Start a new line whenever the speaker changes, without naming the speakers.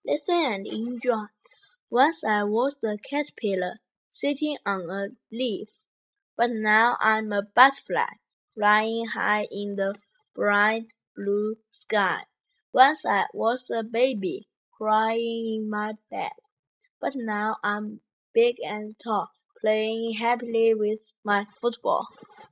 Listen and enjoy. Once I was a caterpillar sitting on a leaf, but now I'm a butterfly flying high in the bright blue sky. Once I was a baby crying in my bed, but now I'm big and tall, playing happily with my football.